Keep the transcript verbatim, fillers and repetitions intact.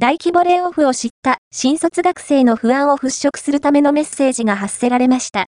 大規模レイオフを知った新卒学生の不安を払拭するためのメッセージが発せられました。